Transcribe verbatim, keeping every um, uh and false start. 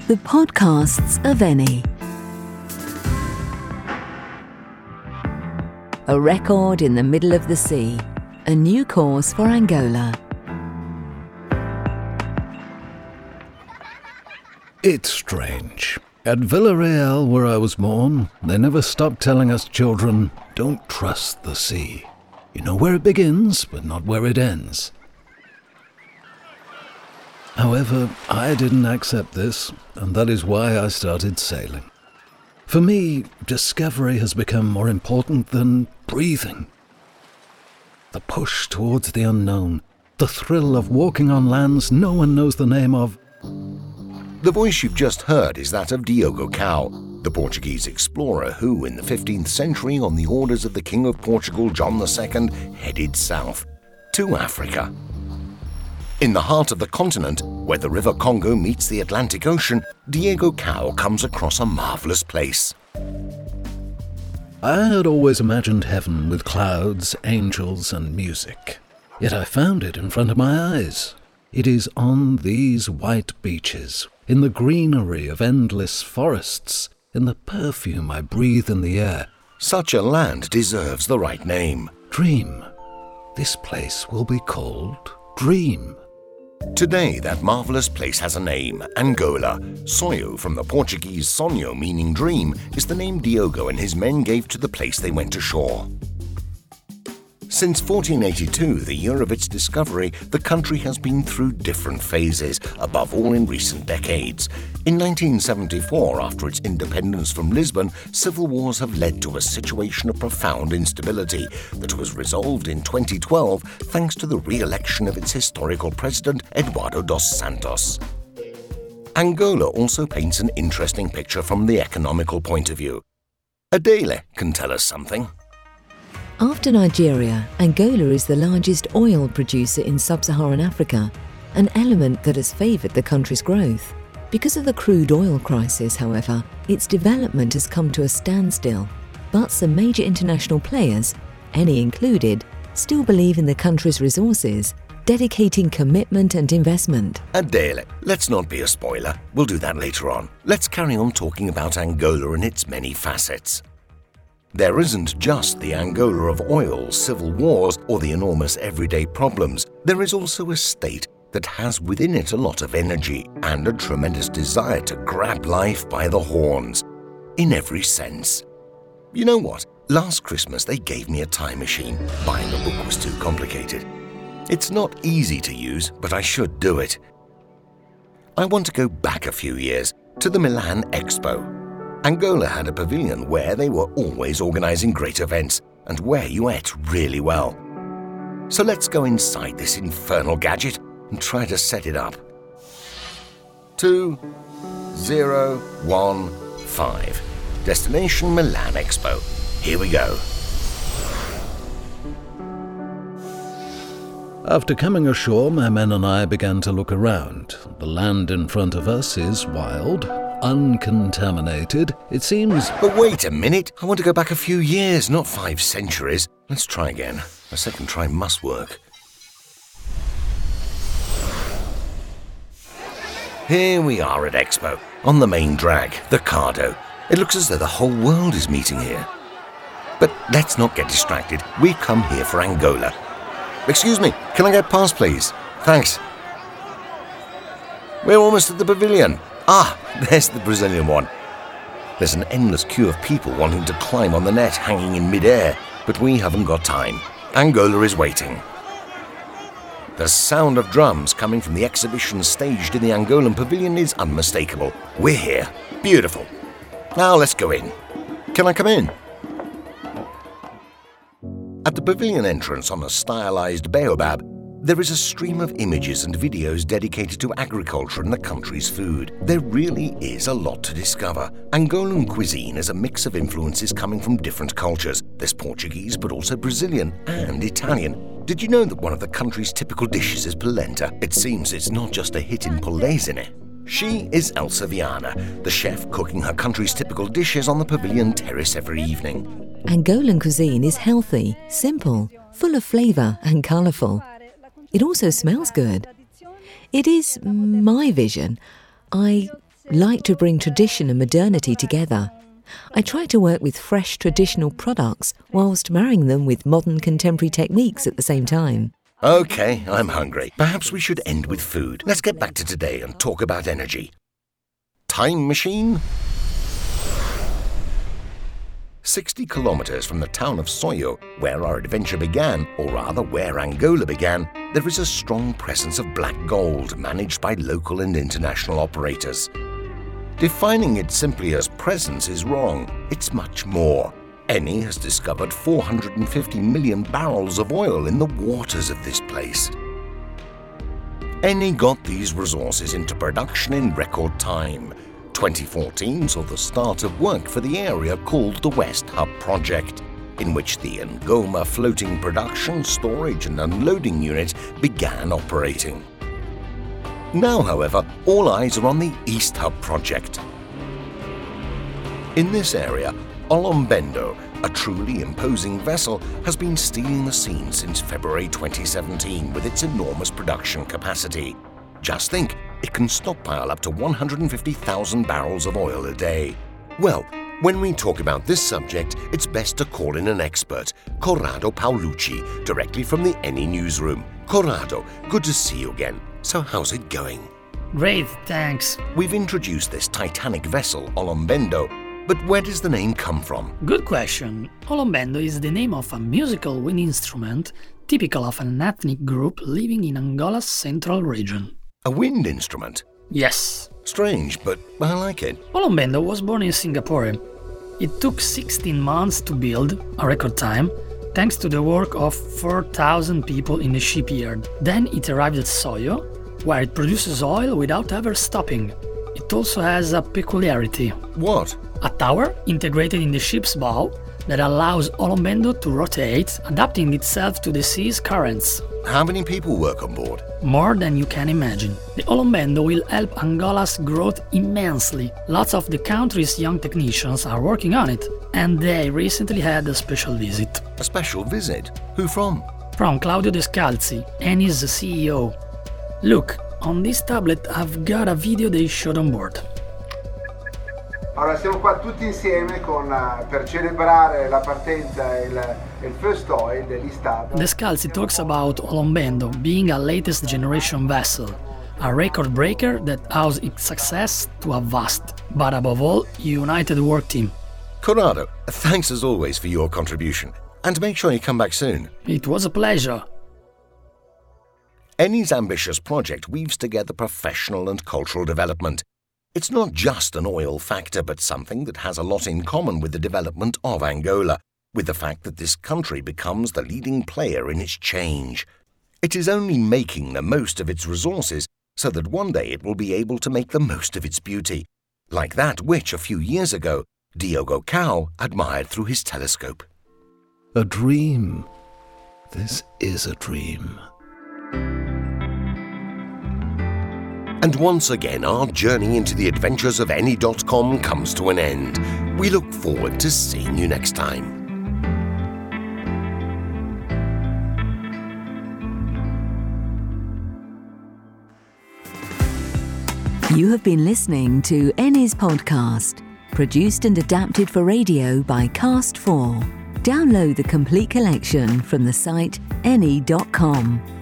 The podcasts of Eni. A record in the middle of the sea. A new course for Angola. It's strange. At Villarreal, where I was born, they never stopped telling us children, don't trust the sea. You know where it begins, but not where it ends. However, I didn't accept this, and that is why I started sailing. For me, discovery has become more important than breathing. The push towards the unknown, the thrill of walking on lands no one knows the name of. The voice you've just heard is that of Diogo Cao, the Portuguese explorer who, in the fifteenth century, on the orders of the King of Portugal, John the Second, headed south to Africa. In the heart of the continent, where the River Congo meets the Atlantic Ocean, Diogo Cao comes across a marvelous place. I had always imagined heaven with clouds, angels, and music. Yet I found it in front of my eyes. It is on these white beaches, in the greenery of endless forests, in the perfume I breathe in the air. Such a land deserves the right name. Dream. This place will be called Dream. Today, that marvelous place has a name, Angola. Sonho, from the Portuguese sonho, meaning dream, is the name Diogo and his men gave to the place they went ashore. Since fourteen eighty-two, the year of its discovery, the country has been through different phases, above all in recent decades. In nineteen seventy-four, after its independence from Lisbon, civil wars have led to a situation of profound instability that was resolved in twenty twelve thanks to the re-election of its historical president, Eduardo dos Santos. Angola also paints an interesting picture from the economical point of view. Adele can tell us something. After Nigeria, Angola is the largest oil producer in sub-Saharan Africa, an element that has favoured the country's growth. Because of the crude oil crisis, however, its development has come to a standstill. But some major international players, Eni included, still believe in the country's resources, dedicating commitment and investment. Adele, let's not be a spoiler. We'll do that later on. Let's carry on talking about Angola and its many facets. There isn't just the Angola of oil, civil wars, or the enormous everyday problems. There is also a state that has within it a lot of energy and a tremendous desire to grab life by the horns, in every sense. You know what? Last Christmas they gave me a time machine. Buying a book was too complicated. It's not easy to use, but I should do it. I want to go back a few years, to the Milan Expo. Angola had a pavilion where they were always organizing great events and where you ate really well. So let's go inside this infernal gadget and try to set it up. Two, zero, one, five. Destination Milan Expo. Here we go. After coming ashore, my men and I began to look around. The land in front of us is wild, uncontaminated. It seems... But wait a minute. I want to go back a few years, not five centuries. Let's try again. A second try must work. Here we are at Expo, on the main drag, the Cardo. It looks as though the whole world is meeting here. But let's not get distracted. We've come here for Angola. Excuse me, can I get past, please? Thanks. We're almost at the pavilion. Ah, there's the Brazilian one. There's an endless queue of people wanting to climb on the net hanging in mid-air, but we haven't got time. Angola is waiting. The sound of drums coming from the exhibition staged in the Angolan pavilion is unmistakable. We're here. Beautiful. Now let's go in. Can I come in? At the pavilion entrance on a stylized baobab, there is a stream of images and videos dedicated to agriculture and the country's food. There really is a lot to discover. Angolan cuisine is a mix of influences coming from different cultures. There's Portuguese, but also Brazilian and Italian. Did you know that one of the country's typical dishes is polenta? It seems it's not just a hit in Polesine. She is Elsa Viana, the chef cooking her country's typical dishes on the pavilion terrace every evening. Angolan cuisine is healthy, simple, full of flavour and colourful. It also smells good. It is my vision. I like to bring tradition and modernity together. I try to work with fresh traditional products whilst marrying them with modern contemporary techniques at the same time. Okay, I'm hungry. Perhaps we should end with food. Let's get back to today and talk about energy. Time machine? sixty kilometers from the town of Soyo, where our adventure began, or rather where Angola began, there is a strong presence of black gold managed by local and international operators. Defining it simply as presence is wrong. It's much more. Eni has discovered four hundred fifty million barrels of oil in the waters of this place. Eni got these resources into production in record time. twenty fourteen saw the start of work for the area called the West Hub Project, in which the Ngoma floating production, storage and unloading unit began operating. Now, however, all eyes are on the East Hub Project. In this area, Olombendo, a truly imposing vessel, has been stealing the scene since February twenty seventeen with its enormous production capacity. Just think, it can stockpile up to one hundred fifty thousand barrels of oil a day. Well, when we talk about this subject, it's best to call in an expert, Corrado Paolucci, directly from the Eni newsroom. Corrado, good to see you again. So how's it going? Great, thanks. We've introduced this titanic vessel, Olombendo, but where does the name come from? Good question. Olombendo is the name of a musical wind instrument typical of an ethnic group living in Angola's central region. A wind instrument? Yes. Strange, but I like it. Olombendo was born in Singapore. It took sixteen months to build, a record time, thanks to the work of four thousand people in the shipyard. Then it arrived at Soyo, where it produces oil without ever stopping. It also has a peculiarity. What? A tower integrated in the ship's bow that allows Olombendo to rotate, adapting itself to the sea's currents. How many people work on board? More than you can imagine. The Olombendo will help Angola's growth immensely. Lots of the country's young technicians are working on it, and they recently had a special visit. A special visit? Who from? From Claudio Descalzi, Eni's C E O. Look, on this tablet I've got a video they showed on board. Allora siamo qua tutti insieme con, uh, per celebrare la partenza e il, il first oil dell'East Hub. Descalzi talks about Olombendo being a latest generation vessel, a record breaker that owes its success to a vast, but above all, united work team. Corrado, thanks as always for your contribution, and make sure you come back soon. It was a pleasure. Eni's ambitious project weaves together professional and cultural development. It's not just an oil factor, but something that has a lot in common with the development of Angola, with the fact that this country becomes the leading player in its change. It is only making the most of its resources so that one day it will be able to make the most of its beauty, like that which, a few years ago, Diogo Cao admired through his telescope. A dream. This is a dream. And once again, our journey into the adventures of Eni dot com comes to an end. We look forward to seeing you next time. You have been listening to Eni's podcast, produced and adapted for radio by Cast four. Download the complete collection from the site Eni dot com.